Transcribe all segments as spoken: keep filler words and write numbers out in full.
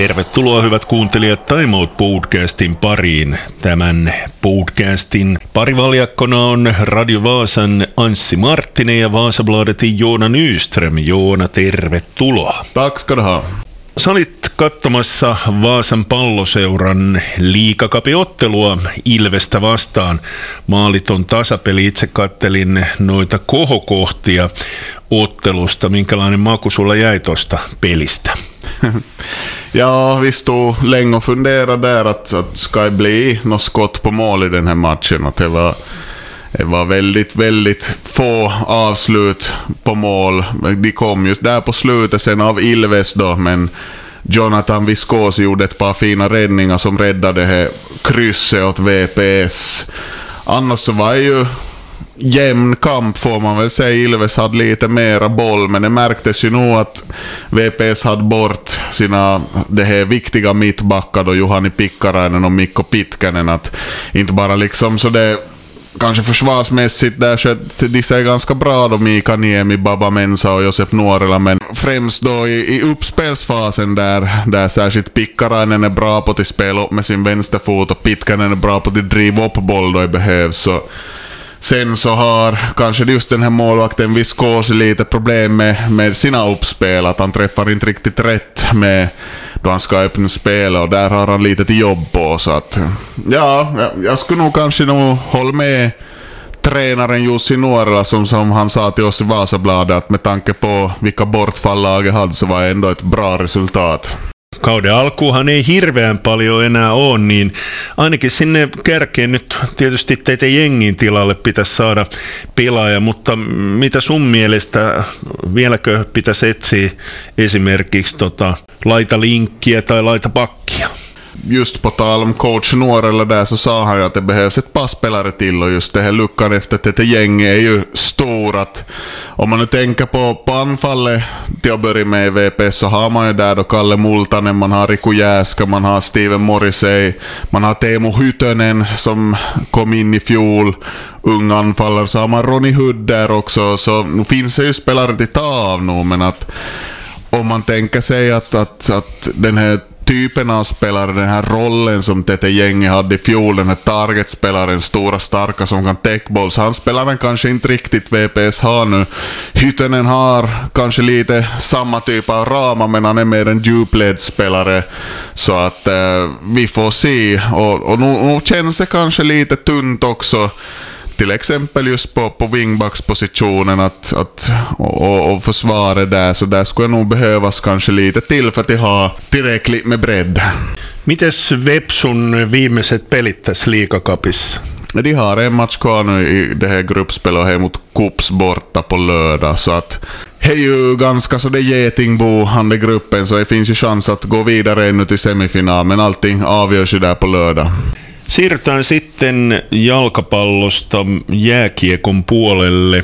Tervetuloa hyvät kuuntelijat Time Out podcastin pariin. Tämän podcastin parivaljakkona on Radio Vaasan Anssi Marttinen ja Vasabladetin Joona Nyström. Joona, tervetuloa. Tack ska du ha. Sä olit katsomassa Vaasan Palloseuran liigakapiottelua Ilvestä vastaan. Maaliton tasapeli. Itse kattelin noita kohokohtia ottelusta. Minkälainen maku sulla jäi tuosta pelistä? Ja, vi stod länge och funderade där att, att ska det bli något skott på mål i den här matchen. Att det var, det var väldigt, väldigt få avslut på mål. De kom just där på slutet sen av Ilves då, men Jonathan Viscosi gjorde ett par fina räddningar som räddade det här krysset åt V P S. Annars så var ju jämn kamp får man väl säga. Ilves hade lite mera boll, men det märktes ju nog att V P S hade bort sina det här viktiga mittbackar då, Juhani Pikkarainen och Mikko Pitkänen, att inte bara liksom så det kanske försvarsmässigt där så de ser ganska bra då, Mika Niemi, Baba Mensa och Josep Nuorela, men främst då i, i uppspelsfasen där, där särskilt Pikkarainen är bra på att spela upp med sin vänsterfot och Pitkänen är bra på att driva upp boll då det behövs. Så sen så har kanske just den här målvakten Viscosi lite problem med, med sina uppspel, att han träffar inte riktigt rätt med då han ska öppna spela, och där har han lite till jobb på. Så att ja, jag skulle nog kanske nog hålla med tränaren Jussi Nuorela som, som han sa till oss i Vasabladet, att med tanke på vilka bortfall laget hade så var det ändå ett bra resultat. Kauden alkuuhan ei hirveän paljon enää ole, niin ainakin sinne kärkeen nyt tietysti teitä jengin tilalle pitäisi saada pelaaja, mutta mitä sun mielestä, vieläkö pitäisi etsiä esimerkiksi tota, laita linkkiä tai laita pakkia? Just på tal om coach Nuorella där så sa han ju att det behövs ett par spelare till, och just det här luckan efter att det gänget är ju stor. Att om man nu tänker på, på anfallet till att börja med i V P S så har man ju där då Kalle Multanen, man har Riku Jääska, man har Steven Morrissey, man har Teemu Hytönen som kom in i fjol, ung anfallare, så har man Ronny Hood där också, så nu finns det ju spelare till ta av nu, men att om man tänker sig att, att, att den här typen av spelare, den här rollen som Tete gänget hade i fjol, den här targetspelaren, stora starka som kan take balls, han spelar den kanske inte riktigt V P S har nu. Hytönen har kanske lite samma typ av ramar, men han är mer en djupledsspelare, så att eh, vi får se, och, och nu, nu känns det kanske lite tunt också, till exempel just på, på wingbackspositionen att, att, och, och försvara där, så där skulle nog behövas kanske lite till för att ha tillräckligt med bredd. Mites Vepsun viimeiset pelit tässä liigakapissa? De har en match kvar nu i det här gruppspelet här mot Kups borta på lördag, så att det är ju ganska så det är getingbo under gruppen, så det finns ju chans att gå vidare ännu till semifinal, men allting avgörs ju där på lördag. Siirrytään sitten jalkapallosta jääkiekon puolelle.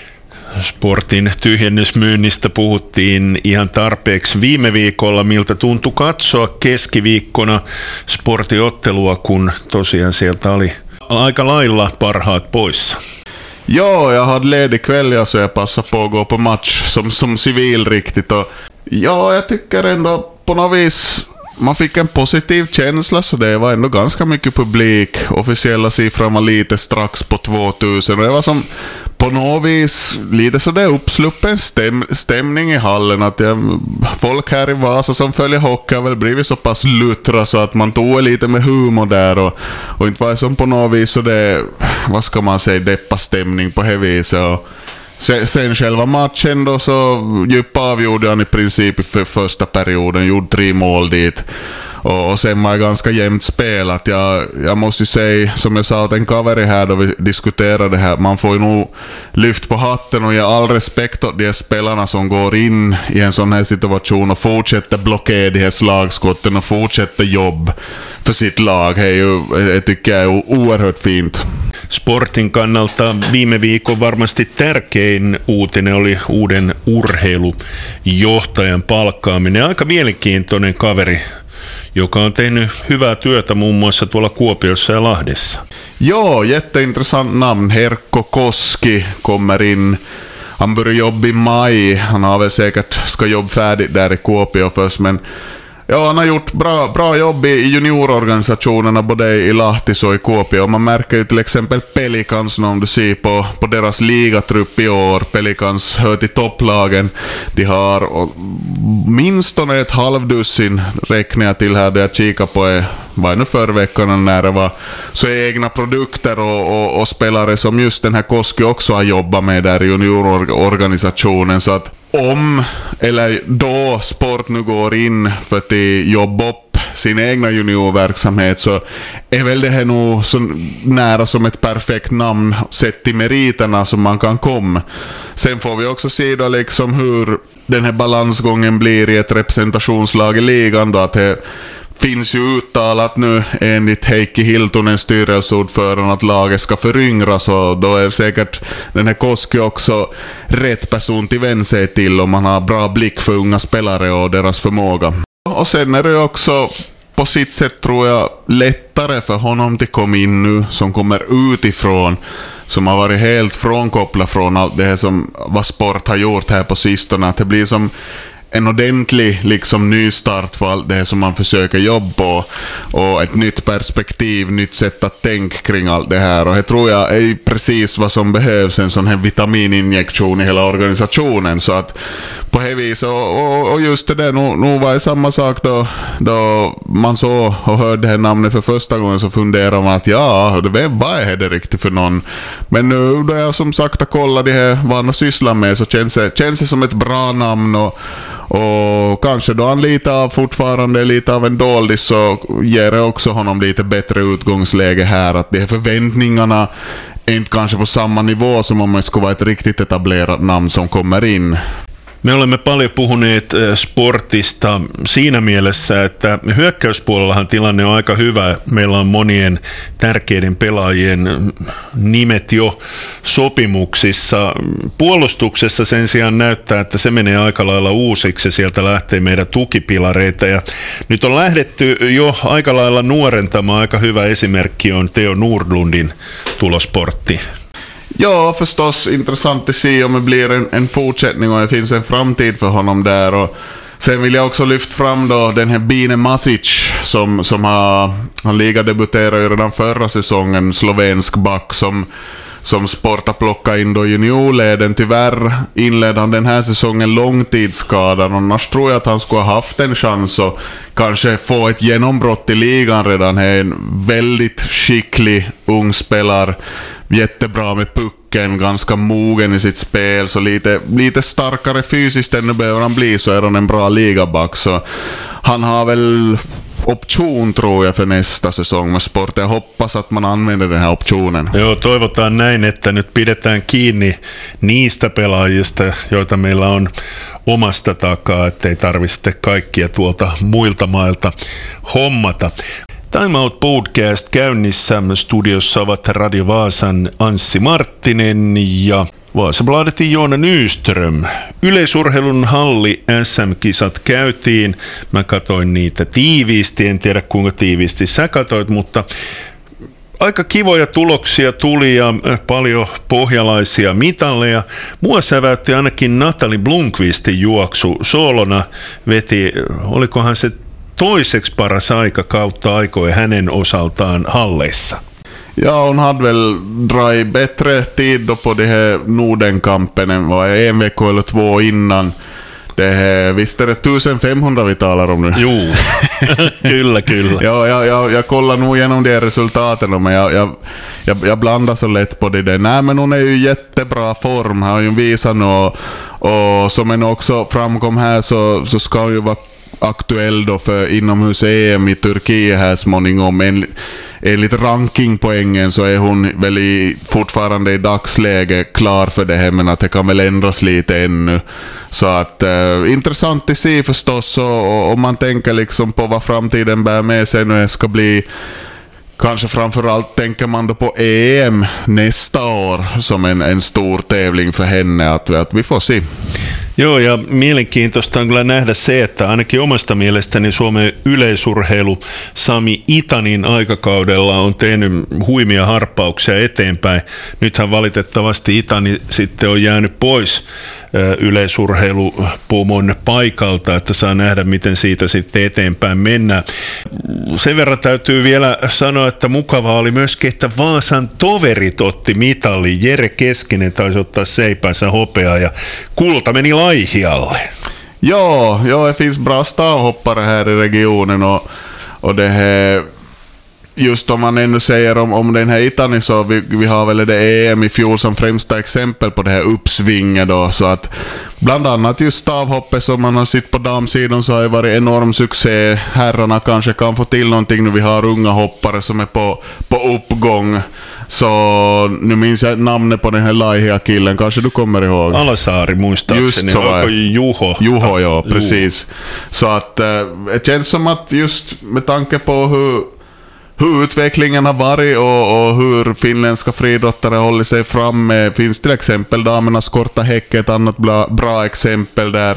Sportin tyhjennysmyynnistä puhuttiin ihan tarpeeksi viime viikolla, miltä tuntui katsoa keskiviikkona sportiottelua, kun tosiaan sieltä oli aika lailla parhaat poissa. Ja, jag hade ledig kväll, så jag passade på att gå på match som, som civil riktigt. Och ja, jag tycker ändå på något vis man fick en positiv känsla, så det var ändå ganska mycket publik. Officiella siffran var lite strax på tvåtusen, och det var som på något vis lite så det uppsluppen stäm, stämning i hallen, att jag, folk här i Vasa som följer hockey har väl blivit så pass luttra så att man tog lite med humor där, och, och inte var det som på något vis så det, vad ska man säga, deppa stämning på det viset. Och Sen, sen själva matchen då så djupa avgjorde han i princip för första perioden, gjorde tre mål dit, och, och sen var det ganska jämnt spelat. Jag, jag måste ju säga, som jag sa åt en kaveri här då vi diskuterade det här, man får ju nog lyft på hatten och ge all respekt åt de spelarna som går in i en sån här situation och fortsätter blockera de här slagskotten och fortsätter jobb för sitt lag. Det är ju, jag tycker jag är oerhört fint. Sportin kannalta viime viikon varmasti tärkein uutinen oli uuden urheilujohtajan palkkaaminen. Aika mielenkiintoinen kaveri, joka on tehnyt hyvää työtä muun muassa tuolla Kuopiossa ja Lahdessa. Ja, jätteintressant namn. Herkko Koski kommer in. Han börjar jobba i maj. Han har väl säkert ska jobba färdigt där i Kuopio först, men Ja, han har gjort bra, bra jobb i juniororganisationerna både i Lahtis och i Kuopio. Man märker ju till exempel Pelicans om du ser på, på deras ligatrupp i år. Pelicans hör till topplagen. De har minst ett halvdussin räknar jag till här där jag kikar på var nu förra veckan när det var så egna produkter och, och, och spelare som just den här Koski också har jobbat med där i juniororganisationen. Så att om eller då sport nu går in för att jobba upp sin egna juniorverksamhet så är väl det här nog så nära som ett perfekt namn sett till meriterna som man kan komma. Sen får vi också se då liksom hur den här balansgången blir i ett representationslag i ligan då, att det finns ju uttalat nu enligt Heikki Hiltunen, styrelseordförande, att laget ska föryngras och då är säkert den här Koski också rätt person till vän sig till om man har bra blick för unga spelare och deras förmåga. Och sen är det också på sitt sätt tror jag lättare för honom att komma in nu som kommer utifrån, som har varit helt frånkopplad från allt det här som vad sport har gjort här på sistone, att det blir som en ordentlig liksom nystart för allt det som man försöker jobba på och ett nytt perspektiv, nytt sätt att tänka kring allt det här, och det tror jag är precis vad som behövs, en sån här vitamininjektion i hela organisationen. Så att på det vis och, och, och just det där, nu, nu var det samma sak då, då man så och hörde det här namnet för första gången, så funderar man att ja, det, vad är det riktigt för någon? Men nu då jag som sagt har kollat det här vad han sysslar med, så känns det, känns det som ett bra namn, och Och kanske då han lite av fortfarande lite av en dålig, så ger det också honom lite bättre utgångsläge här, att de här förväntningarna är inte kanske på samma nivå som om man skulle vara ett riktigt etablerat namn som kommer in. Me olemme paljon puhuneet sportista siinä mielessä, että hyökkäyspuolellahan tilanne on aika hyvä. Meillä on monien tärkeiden pelaajien nimet jo sopimuksissa. Puolustuksessa sen sijaan näyttää, että se menee aika lailla uusiksi ja sieltä lähtee meidän tukipilareita. Ja nyt on lähdetty jo aika lailla nuorentamaan. Aika hyvä esimerkki on Theo Nordlundin tulosportti. Ja, förstås intressant att se om det blir en, en fortsättning och det finns en framtid för honom där. Och sen vill jag också lyfta fram då den här Bine Masic som, som har, han ligadebuterade ju redan förra säsongen, slovensk back som som Sporta plocka in då juniorleden. Tyvärr inledde han den här säsongen långtidsskadad, annars tror jag att han skulle ha haft en chans att kanske få ett genombrott i ligan redan. Han är en väldigt skicklig ung spelare, jättebra med pucken, ganska mogen i sitt spel, så lite, lite starkare fysiskt än nu behöver han bli, så är han en bra ligaback. Så han har väl option tror jag för nästa säsong med Sport. Jag hoppas att man använder den här optionen. Joo, toivotaan näin, että nyt pidetään kiinni niistä pelaajista, joita meillä on omasta takaa, ettei tarvitse kaikkia tuolta muilta mailta hommata. Time Out Podcast käynnissä. Studiossa ovat Radio Vaasan Anssi Marttinen ja Vasabladetin Joona Nyström. Yleisurheilun halli S M-kisat käytiin. Mä katoin niitä tiiviisti, en tiedä kuinka tiiviisti sä katoit, mutta aika kivoja tuloksia tuli ja paljon pohjalaisia mitalleja. Mua säväytti ainakin Natalie Blomqvistin juoksu. Soolona veti, olikohan se toiseksi paras aika kautta aikoja hänen osaltaan halleissa. Ja, hon hade väl dragit bättre tid då på det här Nordenkampen än vad en vecka eller två innan. Det här, visst är det femtonhundra vi talar om nu? Jo, kyllä, kyllä. Ja, jag, jag, jag kollar nog igenom de resultaten, men jag, jag, jag, jag blandar så lätt på det där. Nej, men hon är ju jättebra form, har ju visat och, och som en också framkom här så, så ska hon ju vara aktuell då för inomhus-E M i Turkiet här småningom. En, enligt rankingpoängen så är hon väl i, fortfarande i dagsläge klar för det här, men att det kan väl ändras lite ännu. Så att eh, intressant att se förstås, och om man tänker liksom på vad framtiden bär med sig nu ska bli. Kanske framförallt tänker man då på E M nästa år som en, en stor tävling för henne, att, att vi får se. Joo, ja mielenkiintoista on kyllä nähdä se, että ainakin omasta mielestäni Suomen yleisurheilu Sami Itanin aikakaudella on tehnyt huimia harppauksia eteenpäin. Nythän valitettavasti Itani sitten on jäänyt pois yleisurheilupomon paikalta, että saa nähdä, miten siitä sitten eteenpäin mennään. Sen verran täytyy vielä sanoa, että mukavaa oli myöskin, että Vaasan toverit otti mitali. Jere Keskinen taisi ottaa seipäänsä hopeaa ja kulta meni Laihialle. Ja, ja det finns bra stavhoppare här i regionen och, och det här, just om man ännu säger om, om den här Itani, så vi, vi har väl det E M i fjol som främsta exempel på det här uppsvinget då, så att bland annat just stavhoppet som man har sett på damsidan så har det varit enorm succé. Herrarna kanske kan få till någonting nu, vi har unga hoppare som är på, på uppgång. Så nu minns jag namnet på den här Laihia-killen, kanske du kommer ihåg? Alasaari muistaakseni, onko Juho? Juho, ja, precis. Juho. Så att äh, det känns som att just med tanke på hur, hur utvecklingen har varit och, och hur finländska friidrottare håller sig framme, finns till exempel damernas korta häck, ett annat bra, bra exempel där.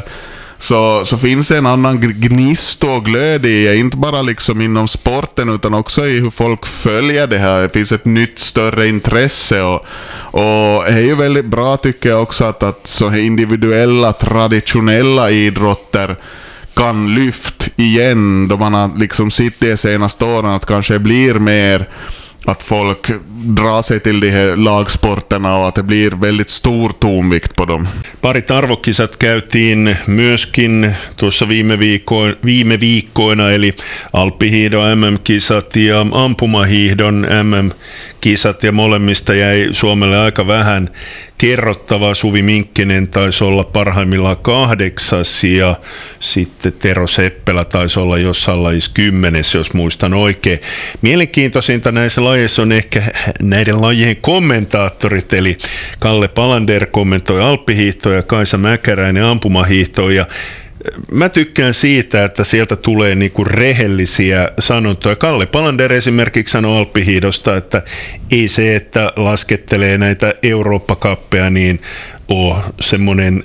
Så, så finns det en annan gnist och glöd i, inte bara liksom inom sporten utan också i hur folk följer det här. Det finns ett nytt större intresse och, och det är ju väldigt bra tycker jag också att, att så här individuella, traditionella idrotter kan lyft igen då man har liksom sitt de senaste åren att kanske blir mer att folk drar sig till de här lagsporterna och att det blir väldigt stor tonvikt på dem. Parit arvokisat käytiin myöskin tuossa viime, viikko, viime viikkoina, eli alppihiihdon M M-kisat ja ampumahiihdon M M-kisat, ja molemmista jäi Suomelle aika vähän kerrottavaa. Suvi Minkkinen taisi olla parhaimmillaan kahdeksas ja sitten Tero Seppälä taisi olla jossain lajissa kymmenes, jos muistan oikein. Mielenkiintoisinta näissä lajeissa on ehkä näiden lajien kommentaattorit, eli Kalle Palander kommentoi alppihiihtoa ja Kaisa Mäkäräinen ampumahiihtoa, ja mä tykkään siitä, että sieltä tulee niinku rehellisiä sanontoja. Kalle Palander esimerkiksi sanoi alppihiihdosta, että ei se, että laskettelee näitä Eurooppa-kappeja, niin ole semmoinen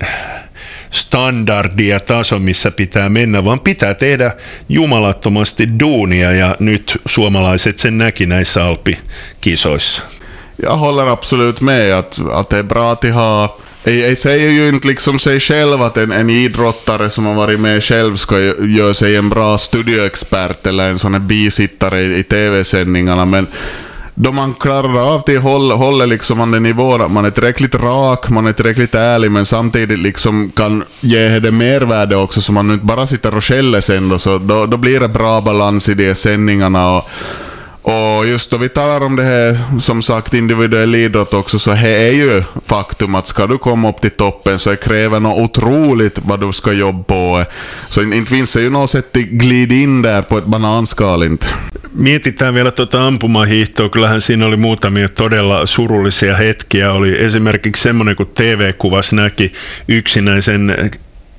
standardi ja taso, missä pitää mennä, vaan pitää tehdä jumalattomasti duunia, ja nyt suomalaiset sen näki näissä alppikisoissa. Jag håller absolut med att, att det är bra att ha. Jag säger ju inte liksom sig själv att en, en idrottare som har varit med själv ska göra sig en bra studioexpert eller en sån här bisittare i, i tv-sändningarna, men då man klarar av till håll, håller liksom man den nivån att man är tillräckligt rak, man är tillräckligt ärlig, men samtidigt liksom kan ge det mervärde också, så man inte bara sitter och skäller sen då, så då, då blir det bra balans i de sändningarna. Och Och just då vi talar om det här, som sagt, individuell idrott också, så här är ju faktum att ska du komma upp till toppen så kräver något otroligt vad du ska jobba på. Så inte finns det ju något sätt att glida in där på ett bananskal inte. Mietitään vielä tuota ampumahiihtoa. Kyllähän siinä oli muutamia todella surullisia hetkiä. Oli esimerkiksi semmoinen, kun T V-kuvassa näki yksinäisen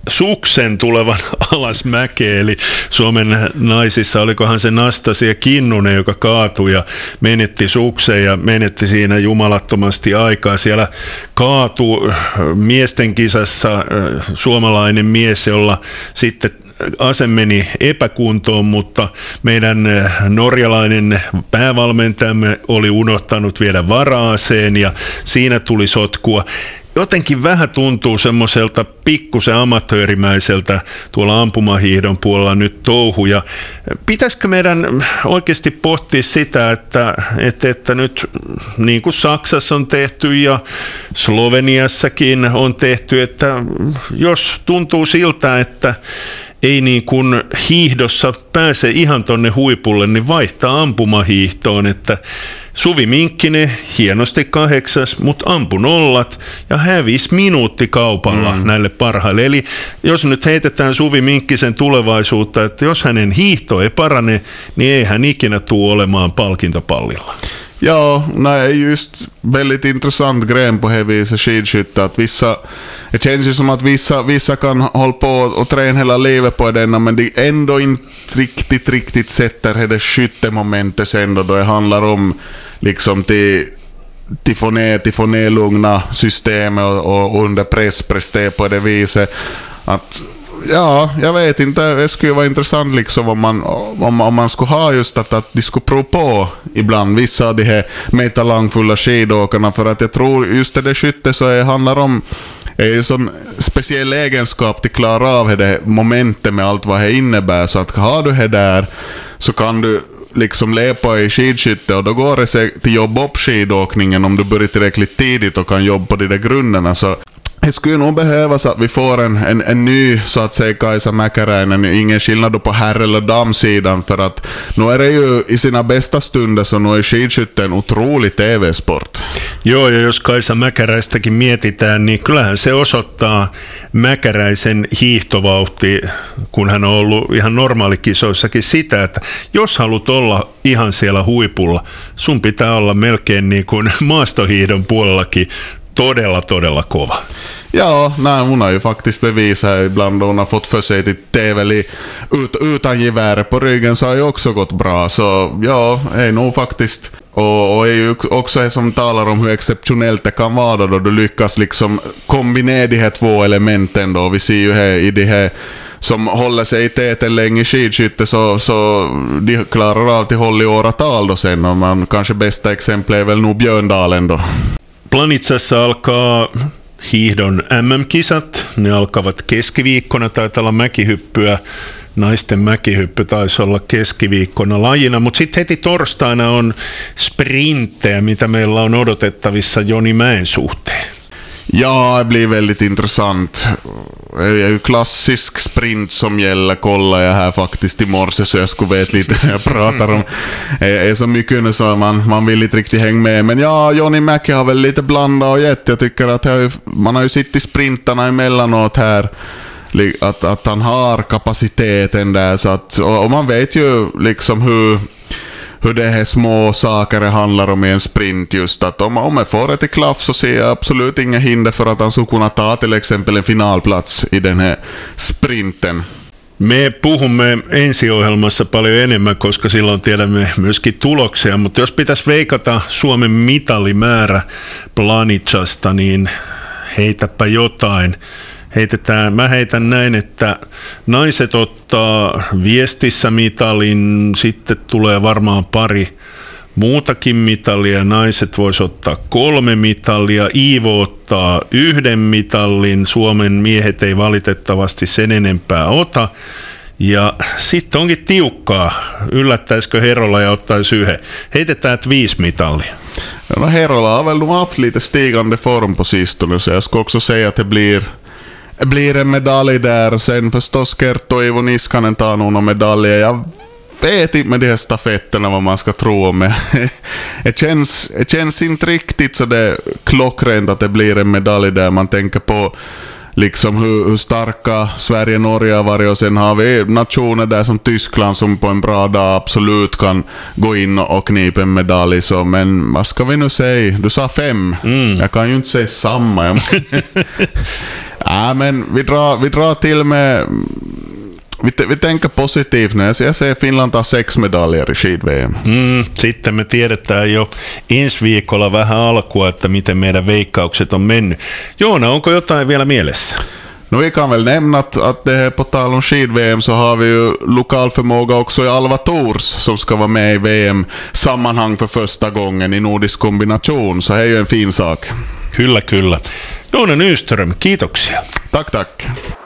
suksen tulevan alas mäkeä, eli Suomen naisissa olikohan se Nastasia Kinnunen, joka kaatui ja menetti suksen ja menetti siinä jumalattomasti aikaa. Siellä kaatui miesten kisassa suomalainen mies, jolla sitten ase meni epäkuntoon, mutta meidän norjalainen päävalmentajamme oli unohtanut viedä vara-aseen ja siinä tuli sotkua. Jotenkin vähän tuntuu semmoiselta pikkusen amatöörimäiseltä tuolla ampumahiihdon puolella nyt touhu, ja pitäisikö meidän oikeasti pohtia sitä, että, että, että nyt niin kuin Saksassa on tehty ja Sloveniassakin on tehty, että jos tuntuu siltä, että ei niin kuin hiihdossa pääse ihan tonne huipulle, niin vaihtaa ampumahiihtoon, että Suvi Minkkinen hienosti kahdeksas, mutta ampui nollat ja hävisi minuuttikaupalla mm. näille parhaille. Eli jos nyt heitetään Suvi Minkkisen tulevaisuutta, että jos hänen hiihto ei parane, niin ei hän ikinä tule olemaan palkintopallilla. Ja, nej, just väldigt intressant gren på heavy skidskytte, att vissa, det känns ju som att vissa, vissa kan hålla på och träna hela livet på denna, men det ändå inte riktigt, riktigt sätter det skyttemomentet sen då, då det handlar om liksom till till få ner, till få ner lugna systemet och, och under press prestera på det viset att. Ja, jag vet inte. Det skulle vara intressant liksom om man, om, om man skulle ha just att, att de skulle prova på ibland vissa av de här mer talangfulla skidåkarna, för att jag tror just det där skytte så det handlar om är ju sån speciell egenskap till klara av det momentet med allt vad det innebär. Så att har du det där så kan du liksom lepa i skidskytte och då går det sig till jobb upp skidåkningen om du börjar tillräckligt tidigt och kan jobba på de där grunderna. Så det skulle nog behövas att vi får en, en, en ny, så att säga, Kaisa Mäkäräinen. Ingen skillnad på herr- eller damsidan, för att nu är det ju i sina bästa stunder så nu är skidskytte en otrolig T V-sport. Joo, ja jos Kaisa Mäkäräistäkin mietitään, niin kyllähän se osoittaa Mäkäräisen hiihtovauhti, kun hän on ollut ihan normaalikisoissakin sitä, että jos haluat olla ihan siellä huipulla, sun pitää olla melkein niin kuin maastohiihdon puolellakin todella, todella kova. Ja, nej, hon har ju faktiskt bevisat ibland då hon har fått för sig till T V ut, utan gevär på ryggen så har ju också gått bra. Så ja, är nog faktiskt, och, och är ju också det som talar om hur exceptionellt det kan vara då du lyckas liksom kombinera de här två elementen då. Vi ser ju här i det här som håller sig i täten länge i skidskytte, så, så de klarar av till håll i åratal då sen, och man kanske bästa exempel är väl nog Björndalen då. Planitsassa alkaa hiihdon M M-kisat. Ne alkavat keskiviikkona, taitaa olla mäkihyppyä. Naisten mäkihyppy taisi olla keskiviikkona lajina, mutta sitten heti torstaina on sprinttejä, mitä meillä on odotettavissa Joni Mäen suhteen. Ja, det blir väldigt intressant. Det är ju klassisk sprint som gäller, kollar jag här faktiskt i morse så jag skulle veta lite när jag pratar om. Det är så mycket nu så man, man vill inte riktigt hänga med. Men ja, Joni Mäki har väl lite blandat och gett. Jag tycker att jag, man har ju sitt i sprintarna emellanåt här. Att, att han har kapaciteten där. Så att, och, och man vet ju liksom hur... hur det här små saker det handlar om i en sprint, just att om, om jag får det till klaff så ser jag absolut inga hinder för att han skulle kunna ta till exempel en finalplats i den här sprinten. Me puhumme ensiohjelmassa paljon enemmän, koska silloin tiedämme myöskin tuloksia, mutta jos pitäisi veikata Suomen mitalimäärä Planitsasta, niin heitäpä jotain. Heitetään, mä heitän näin, että naiset ottaa viestissä mitalin, sitten tulee varmaan pari muutakin mitalia, naiset vois ottaa kolme mitalia, Iivo ottaa yhden mitallin, Suomen miehet ei valitettavasti sen enempää ota, ja sitten onkin tiukkaa, yllättäisikö Herola ja ottaisi yhden, heitetään että viisi mitalia. No, Herola har väl haft lite stigande form på sistone, så jag ska också säga att det blir blir en medalj där. Sen förstås Kerttu och Ivo Niskanen tar nog några medaljer. Jag vet inte med de här stafetterna vad man ska tro om. Det känns, det känns inte riktigt så det klockrent att det blir en medalj där. Man tänker på liksom hur, hur starka Sverige och Norge har varit, och sen har vi nationer där som Tyskland som på en bra dag absolut kan gå in och knipa en medalj. Så, men vad ska vi nu säga? Du sa fem. Mm. Jag kan ju inte säga samma. Ja, men vi drar, vi drar till med... Vi, vi tänker positivt nu. Jag ser Finland tar sex medaljer i skid-V M. Mm, sitten me tiedetään jo ensi viikolla vähän alkua, että miten meidän veikkaukset on mennyt. Joona, onko jotain vielä mielessä? No, vi kan väl nämna att, att det här på tal om skid-V M så har vi ju lokal förmåga också i Alva Tours som ska vara med i V M-sammanhang för första gången i nordisk kombination. Så det är ju en fin sak. Kyllä, kyllä. Joona Nyström, kiitoksia. Tack, tack.